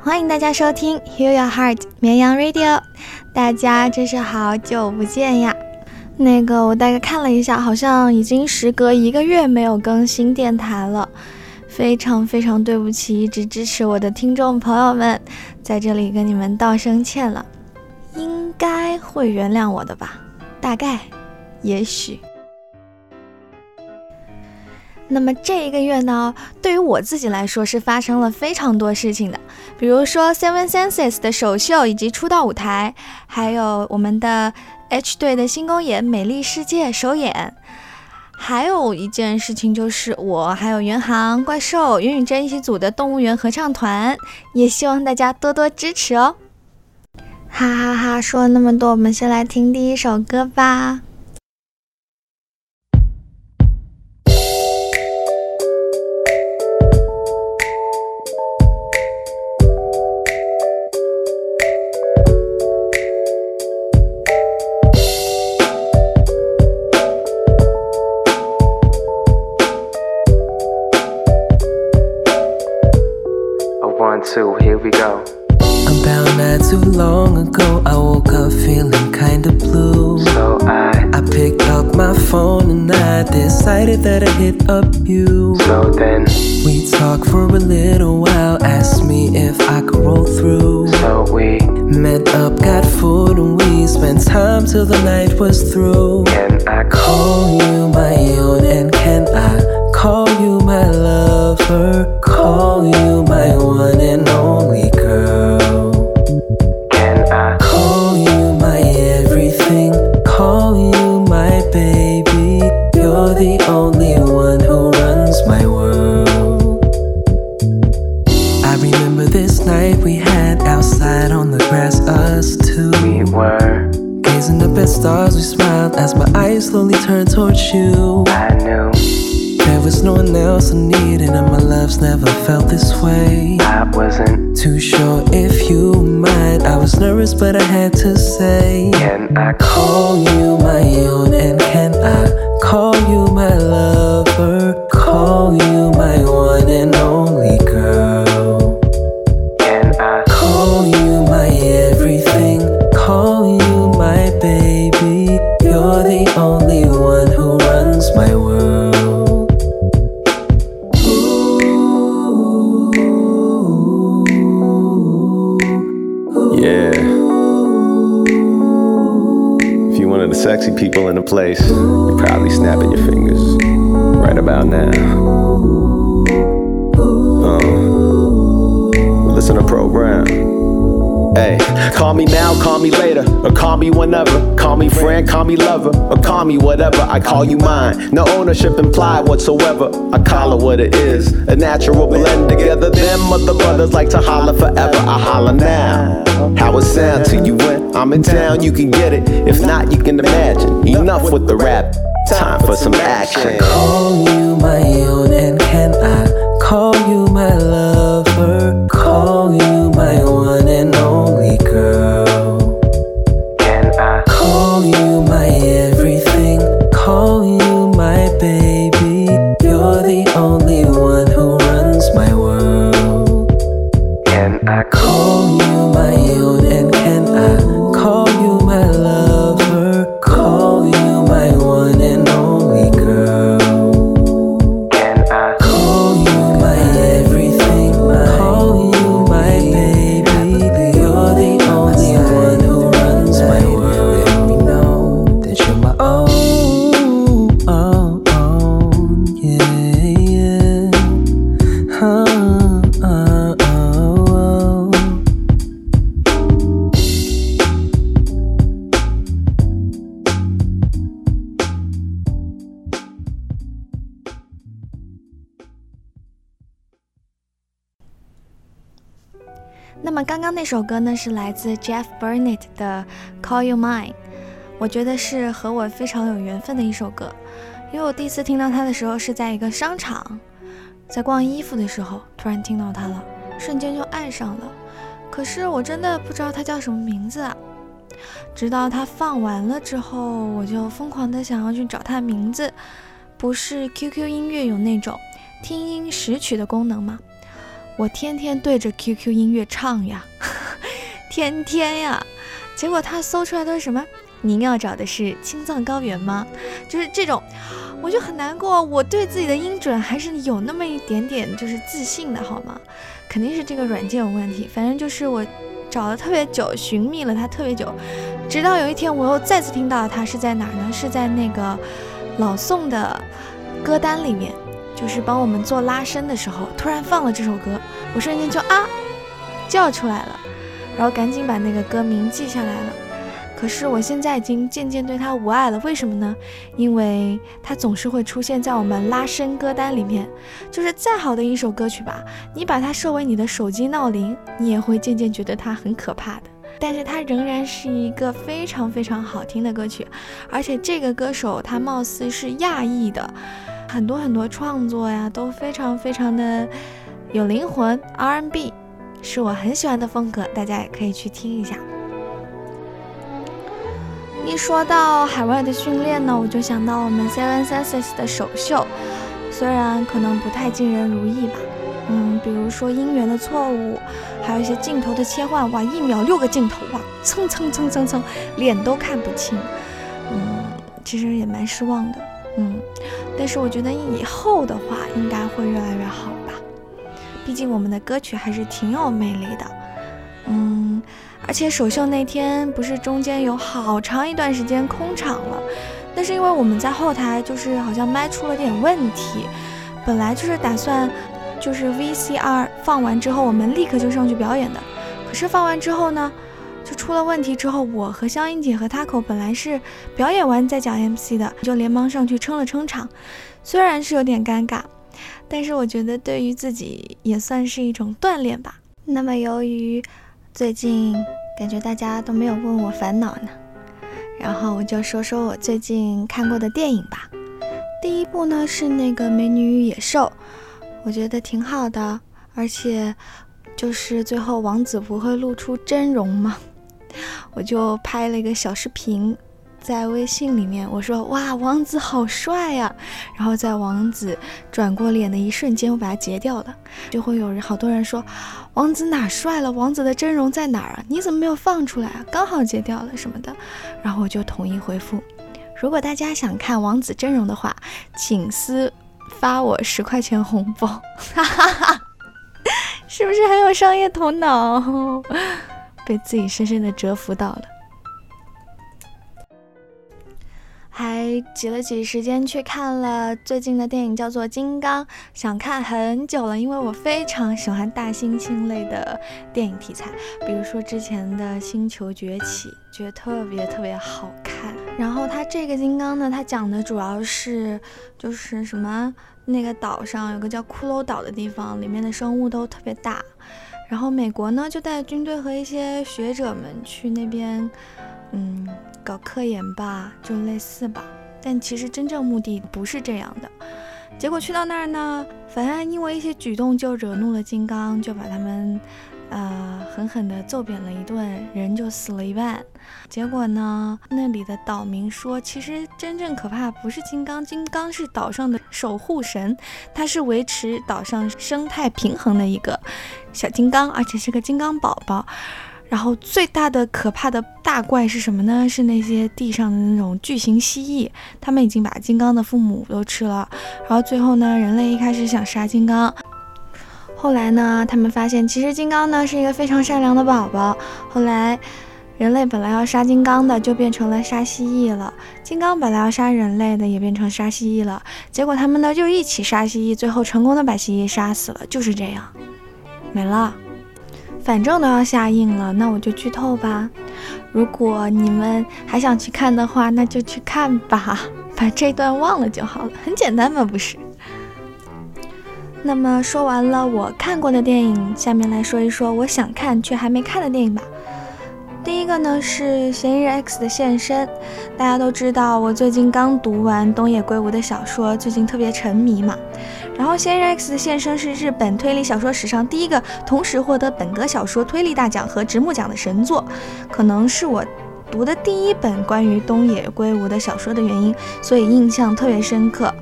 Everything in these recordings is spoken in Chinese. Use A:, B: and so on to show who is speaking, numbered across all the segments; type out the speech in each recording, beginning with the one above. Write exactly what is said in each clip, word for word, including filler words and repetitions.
A: 欢迎大家收听 Heal Your Heart 绵羊 Radio， 大家真是好久不见呀。那个我大概看了一下，好像已经时隔一个月没有更新电台了，非常非常对不起一直支持我的听众朋友们，在这里跟你们道声歉了，应该会原谅我的吧，大概也许。那么这一个月呢，对于我自己来说是发生了非常多事情的，比如说 Seven Senses 的首秀以及出道舞台，还有我们的 H 队的新公演美丽世界首演，还有一件事情就是我还有元航、怪兽、云雨真一起组的动物园合唱团，也希望大家多多支持哦。哈哈哈，说了那么多，我们先来听第一首歌吧。
B: Two, here we go.
C: About not too long ago, I woke up feeling kinda blue.
B: So I,
C: I picked up my phone and I decided that I'd hit up you.
B: So then,
C: we talked for a little while, asked me if I could roll through.
B: So we
C: met up, got food, and we spent time till the night was through.
B: Can I
C: call you my own, and can I call you my lover? Call you my one and only girl.
B: Can I
C: call you my everything? Call you my baby. You're the only one who runs my world. I remember this night we had outside on the grass, us two.
B: We were
C: gazing up at stars, we smiled as my eyes slowly turned towards you.
B: I knew
C: there was no one else I needed, and my love's never felt this way.
B: I wasn't
C: too sure if you might. I was nervous, but I had to say,
B: can I
C: call you my own, and can I call you my lover? Call you my one and only girl.
B: Can I
C: call you my everything? Call you my baby. You're the only one who runs my world.
D: Yeah. If you're one of the sexy people in the place, you're probably snapping your fingers right about now. Uh, listen to program. Hey, call me now, call me later, or call me whenever. Call me friend, call me lover, or call me whatever. I call you mine, no ownership implied whatsoever. I call it what it is, a natural blend together. Them other brothers like to holler forever. I holler now. How it sound to you when I'm in town? You can get it. If not, you can imagine. Enough with the rap. Time for some action.
C: Call you my own, and can I call you my lover? Call you my one and only girl.
B: Can I
C: call you my everything? Call you my baby. You're the only one who runs my world.
B: Can I
C: call you my own, and can I call you my lover? Call you my one and only girl.
B: Can I
C: call you my everything? Call you my baby. You're the only one who runs my world. Let me know that you're my own, oh, oh, yeah, yeah. Huh, uh, oh, oh.
A: 那么刚刚那首歌呢，是来自 Jeff Burnett 的 Call You Mine， 我觉得是和我非常有缘分的一首歌，因为我第一次听到它的时候是在一个商场，在逛衣服的时候突然听到它了，瞬间就爱上了，可是我真的不知道它叫什么名字啊，直到它放完了之后，我就疯狂的想要去找它名字，不是 Q Q 音乐有那种听音识曲的功能吗？ 我天天对着 Q Q 音乐唱呀，天天呀，结果他搜出来都是什么？您要找的是青藏高原吗？就是这种，我就很难过。我对自己的音准还是有那么一点点就是自信的，好吗？肯定是这个软件有问题。反正就是我找了特别久，寻觅了它特别久，直到有一天我又再次听到它，是在哪儿呢？是在那个老宋的歌单里面，就是帮我们做拉伸的时候，突然放了这首歌，我瞬间就啊叫出来了，然后赶紧把那个歌名记下来了。可是我现在已经渐渐对它无爱了，为什么呢？因为它总是会出现在我们拉伸歌单里面，就是再好的一首歌曲吧，你把它设为你的手机闹铃，你也会渐渐觉得它很可怕的。但是它仍然是一个非常非常好听的歌曲，而且这个歌手他貌似是亚裔的，很多很多创作呀都非常非常的有灵魂 ，R and B 是我很喜欢的风格，大家也可以去听一下。一说到海外的训练呢，我就想到我们 Seven Senses 的首秀，虽然可能不太尽人如意吧，嗯，比如说音源的错误，还有一些镜头的切换，哇，一秒六个镜头，哇，蹭蹭蹭蹭蹭，脸都看不清，嗯，其实也蛮失望的，嗯，但是我觉得以后的话应该会越来越好吧，毕竟我们的歌曲还是挺有魅力的，嗯。而且首秀那天不是中间有好长一段时间空场了，那是因为我们在后台就是好像麦出了点问题，本来就是打算就是 V C R 放完之后我们立刻就上去表演的，可是放完之后呢就出了问题，之后我和香音姐和 Taco 本来是表演完再讲 M C 的，就连忙上去撑了撑场，虽然是有点尴尬，但是我觉得对于自己也算是一种锻炼吧。那么由于最近感觉大家都没有问我烦恼呢，然后我就说说我最近看过的电影吧。第一部呢是那个《美女与野兽》，我觉得挺好的，而且就是最后王子不会露出真容嘛，我就拍了一个小视频在微信里面，我说哇王子好帅呀、啊，然后在王子转过脸的一瞬间我把它截掉了，就会有人好多人说王子哪帅了，王子的真容在哪儿啊，你怎么没有放出来啊，刚好截掉了什么的，然后我就统一回复，如果大家想看王子真容的话请私发我十块钱红包，哈哈哈，是不是很有商业头脑，被自己深深的折服到了。还挤了挤时间去看了最近的电影叫做《金刚》，想看很久了，因为我非常喜欢大猩猩类的电影题材，比如说之前的《星球崛起》，觉得特别特别好看。然后它这个金刚呢，它讲的主要是就是什么那个岛上有个叫骷髅岛的地方，里面的生物都特别大，然后美国呢就带军队和一些学者们去那边嗯搞科研吧，就类似吧，但其实真正目的不是这样的。结果去到那儿呢，反正因为一些举动就惹怒了金刚，就把他们呃狠狠地揍扁了一顿，人就死了一半。结果呢，那里的岛民说，其实真正可怕不是金刚，金刚是岛上的守护神，它是维持岛上生态平衡的一个小金刚，而且是个金刚宝宝。然后最大的可怕的大怪是什么呢？是那些地上的那种巨型蜥蜴，他们已经把金刚的父母都吃了。然后最后呢，人类一开始想杀金刚，后来呢，他们发现其实金刚呢是一个非常善良的宝宝。后来人类本来要杀金刚的，就变成了杀蜥蜴了；金刚本来要杀人类的，也变成杀蜥蜴了。结果他们呢就一起杀蜥蜴，最后成功的把蜥蜴杀死了，就是这样，没了。反正都要下映了，那我就剧透吧。如果你们还想去看的话，那就去看吧，把这段忘了就好了，很简单嘛，不是？那么说完了我看过的电影，下面来说一说我想看却还没看的电影吧。第一个呢是嫌疑人 X 的现身，大家都知道我最近刚读完东野圭吾的小说，最近特别沉迷嘛。然后嫌疑人 X 的现身是日本推理小说史上第一个同时获得本格小说推理大奖和直木奖的神作，可能是我读的第一本关于东野圭吾的小说的原因，所以印象特别深刻。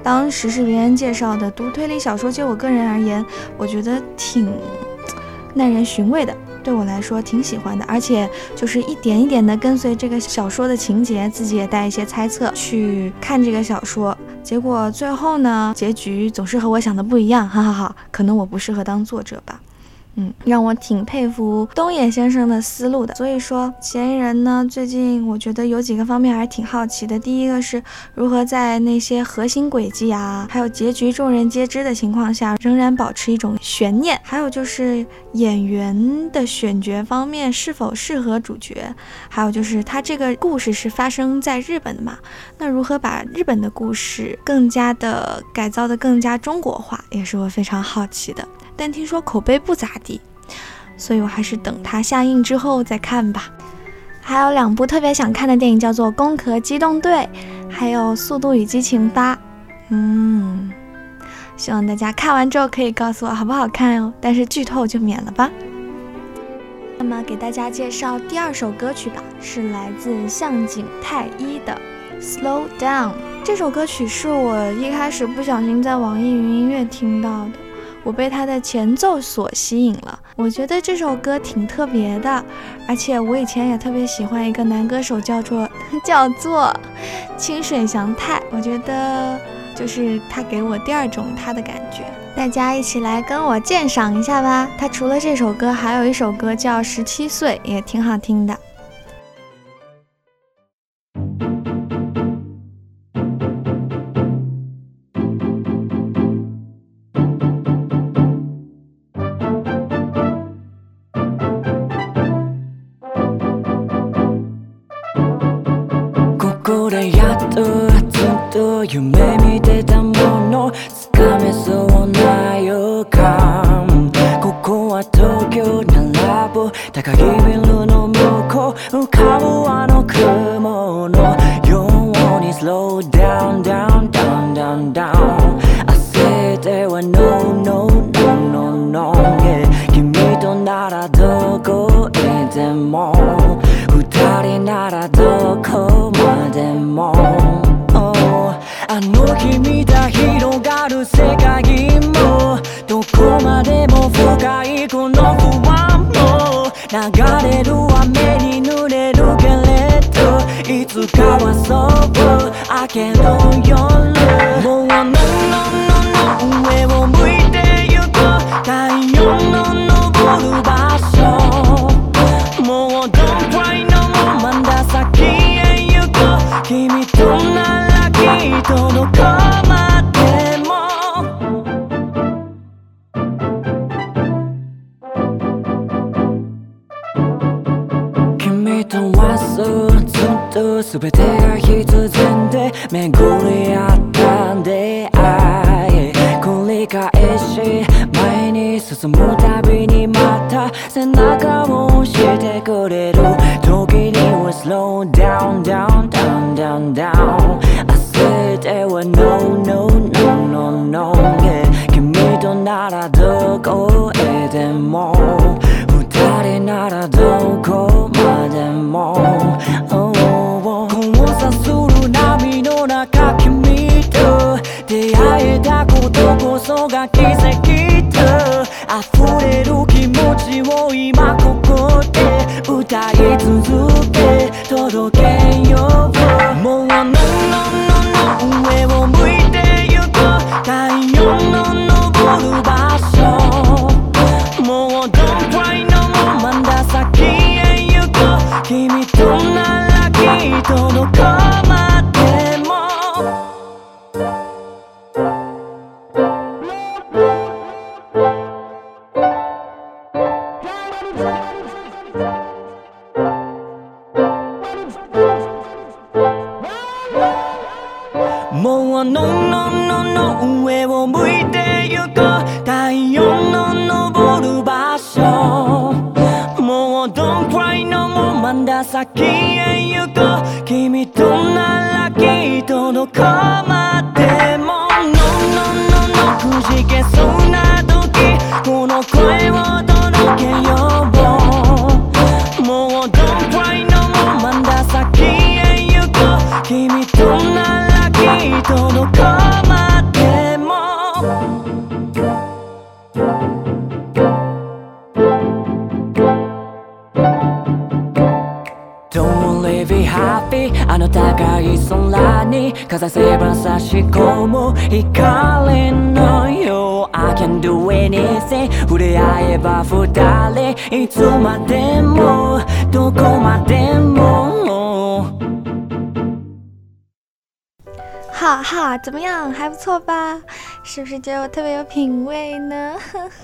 A: 当时是别人介绍的。读推理小说就我个人而言，我觉得挺耐人寻味的，对我来说挺喜欢的，而且就是一点一点的跟随这个小说的情节，自己也带一些猜测去看这个小说，结果最后呢，结局总是和我想的不一样，哈哈哈，可能我不适合当作者吧。嗯，让我挺佩服东野先生的思路的。所以说嫌疑人呢，最近我觉得有几个方面还是挺好奇的。第一个是如何在那些核心轨迹啊，还有结局众人皆知的情况下，仍然保持一种悬念。还有就是演员的选角方面是否适合主角，还有就是他这个故事是发生在日本的嘛，那如何把日本的故事更加的改造的更加中国化，也是我非常好奇的。但听说口碑不咋地，所以我还是等它下映之后再看吧。还有两部特别想看的电影，叫做《攻壳机动队》还有《速度与激情八》。嗯，希望大家看完之后可以告诉我好不好看哦，但是剧透就免了吧。那么给大家介绍第二首歌曲吧，是来自向井太一的《Slow Down》。这首歌曲是我一开始不小心在网易云音乐听到的，我被它的前奏所吸引了。我觉得这首歌挺特别的，而且我以前也特别喜欢一个男歌手，叫做叫做清水翔太，我觉得就是他给我第二种他的感觉。大家一起来跟我鉴赏一下吧。他除了这首歌，还有一首歌叫《十七岁》，也挺好听的。
C: 夢見てたものつかめそうな予感ここは東京並ぶ高いビルの向こう浮かぶあの雲のように Slow down down down down down 焦っては No no no no no yeah 君とならどこへでも二人ならどこまでもあの日見た広がる世界もどこまでも深いこの不安も流れる雨に濡れるけれどいつかはそう明ける夜もう No no no 上を向いてゆく太陽の昇る場所もう Don't cry no more まだ先へ行く君とならどこまでも君とはそうずっと全てが必然で巡り合った出会い繰り返し前に進むたびにまた背中を押してくれる時には Slow down down down down downでは No no no no no yeah 君とならどこへでも二人ならどこまでも、oh, oh. 交差する波の中君と出会えたことこそが奇跡と溢れる気持ちを今ここで歌い続け届けようもう No no上を向いてゆく太陽の昇る場所もう Don't cry no more まだ先へ行く君とならきっとどこまでももう No no no no 上を向いてゆく太陽の昇る場所もう Don't cry no more まだ先へ行く君とならきっとどこまでも No no no no くじけそうな時この声を届けようもう Don't cry no more まだ先へ行く君とならきっとどこまで
E: 風せば差し込む光のよう I can do anything 触れ合えば二人いつまでもどこまでも
A: 哈哈，怎么样？还不错吧？是不是觉得我特别有品味呢？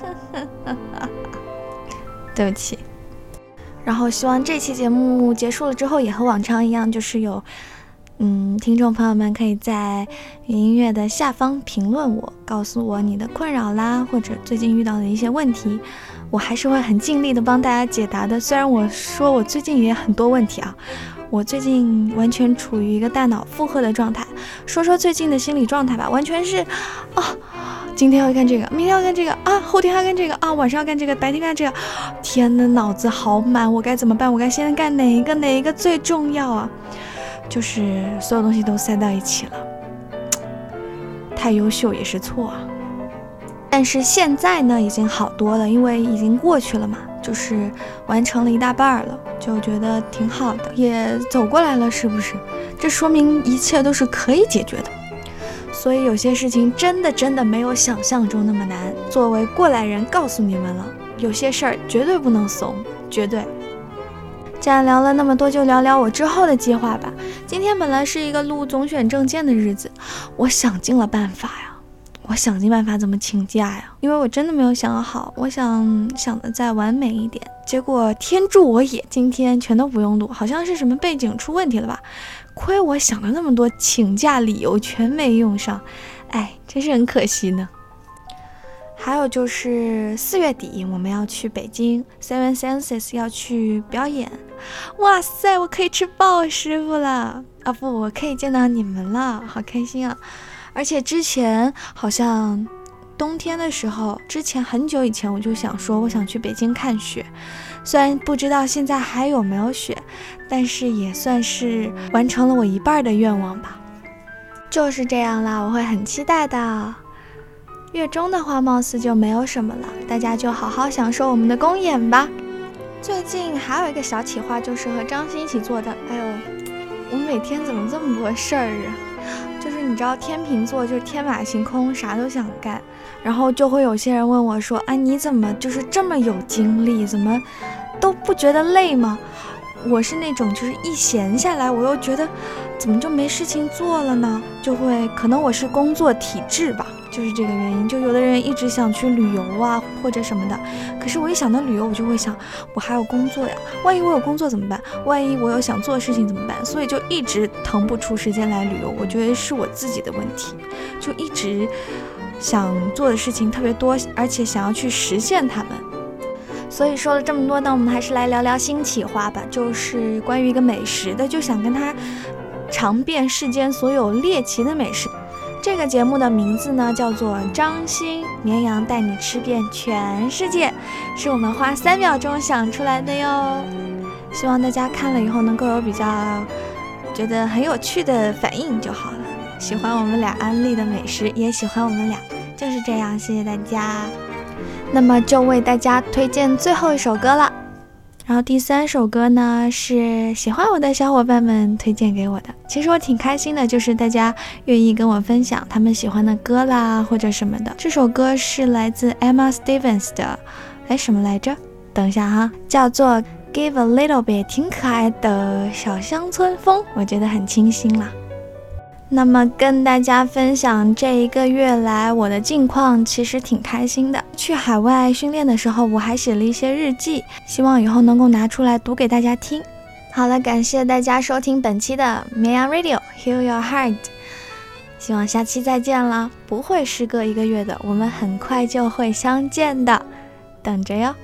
A: 对不起。然后希望这期节目结束了之后，也和往常一样，就是有嗯，听众朋友们可以在音乐的下方评论我，告诉我你的困扰啦，或者最近遇到的一些问题，我还是会很尽力的帮大家解答的。虽然我说我最近也很多问题啊，我最近完全处于一个大脑负荷的状态。说说最近的心理状态吧，完全是啊，今天要干这个，明天要干这个啊，后天要干这个啊，晚上要干这个，白天干这个，天呐，脑子好满，我该怎么办？我该现在干哪一个？哪一个最重要啊？就是所有东西都塞到一起了，太优秀也是错啊。但是现在呢，已经好多了，因为已经过去了嘛，就是完成了一大半了，就觉得挺好的，也走过来了，是不是？这说明一切都是可以解决的。所以有些事情真的真的没有想象中那么难。作为过来人，告诉你们了，有些事儿绝对不能怂，绝对。既然聊了那么多，就聊聊我之后的计划吧。今天本来是一个录总选证件的日子，我想尽了办法呀，我想尽办法怎么请假呀，因为我真的没有想好，我想想的再完美一点。结果天助我也，今天全都不用录，好像是什么背景出问题了吧？亏我想了那么多请假理由全没用上，哎，真是很可惜呢。还有就是四月底我们要去北京 Seven Senses 要去表演，哇塞，我可以吃鲍师傅了啊！不，我可以见到你们了，好开心啊！而且之前好像冬天的时候，之前很久以前我就想说我想去北京看雪，虽然不知道现在还有没有雪，但是也算是完成了我一半的愿望吧。就是这样啦，我会很期待的。月中的话貌似就没有什么了，大家就好好享受我们的公演吧。最近还有一个小企划，就是和张欣一起做的。哎呦，我每天怎么这么多事儿啊？就是你知道天秤座就是天马行空，啥都想干，然后就会有些人问我说啊，你怎么就是这么有精力，怎么都不觉得累吗？我是那种就是一闲下来我又觉得怎么就没事情做了呢，就会可能我是工作体质吧，就是这个原因。就有的人一直想去旅游啊或者什么的，可是我一想到旅游我就会想我还有工作呀，万一我有工作怎么办，万一我有想做的事情怎么办，所以就一直腾不出时间来旅游。我觉得是我自己的问题，就一直想做的事情特别多，而且想要去实现它们。所以说了这么多呢，我们还是来聊聊新企划吧，就是关于一个美食的，就想跟他尝遍世间所有猎奇的美食。这个节目的名字呢叫做张欣绵羊带你吃遍全世界，是我们花三秒钟想出来的哟。希望大家看了以后能够有比较觉得很有趣的反应就好了，喜欢我们俩安利的美食，也喜欢我们俩，就是这样，谢谢大家。那么就为大家推荐最后一首歌了，然后第三首歌呢是喜欢我的小伙伴们推荐给我的。其实我挺开心的，就是大家愿意跟我分享他们喜欢的歌啦或者什么的。这首歌是来自 Emma Stevens 的，哎，什么来着？等一下哈，叫做 Give a Little Bit， 挺可爱的小乡村风，我觉得很清新啦。那么跟大家分享这一个月来我的近况，其实挺开心的。去海外训练的时候我还写了一些日记，希望以后能够拿出来读给大家听。好了，感谢大家收听本期的绵羊 Radio Heal Your Heart， 希望下期再见了，不会时隔一个月的，我们很快就会相见的，等着哟。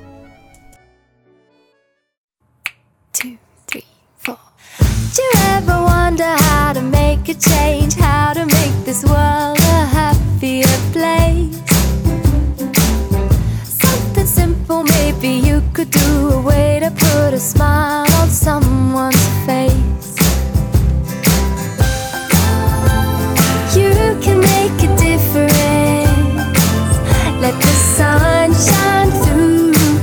F: Do you ever wonder how to make a change? How to make this world a happier place? Something simple maybe you could do, a way to put a smile on someone's face. You can make a difference, let the sun shine through.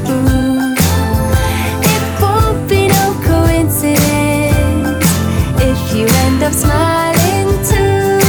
F: It won't be no coincidence if you end up smiling too.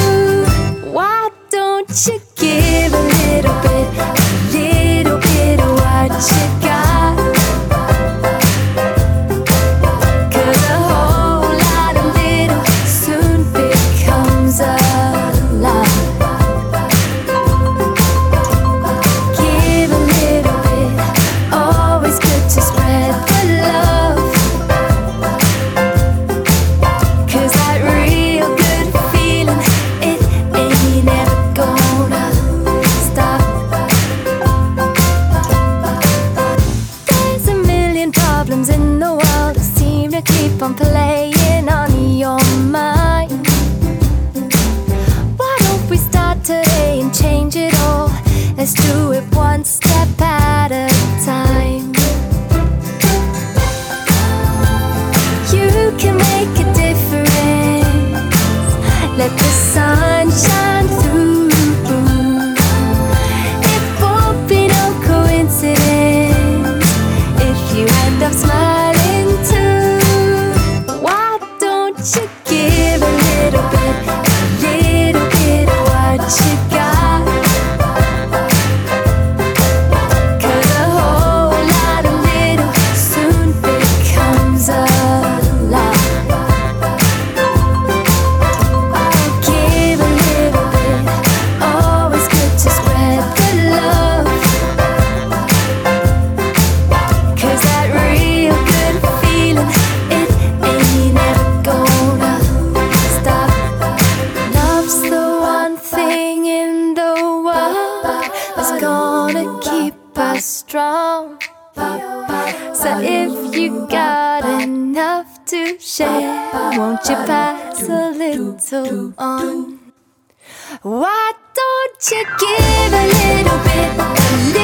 F: are strong. So if you got enough to share, won't you pass a little on? Why don't you give a little bit, a little